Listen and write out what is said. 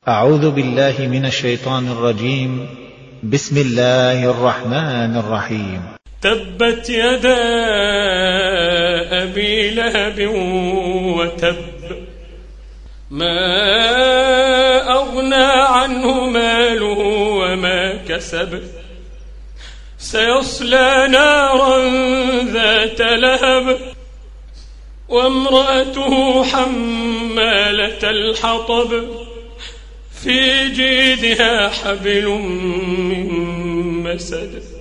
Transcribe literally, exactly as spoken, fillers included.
أعوذ بالله من الشيطان الرجيم. بسم الله الرحمن الرحيم. تبت يدا أبي لهب وتب، ما أغنى عنه ماله وما كسب، سيصلى نارا ذات لهب، وامرأته حمالة الحطب، في جيدها حبل من مسد.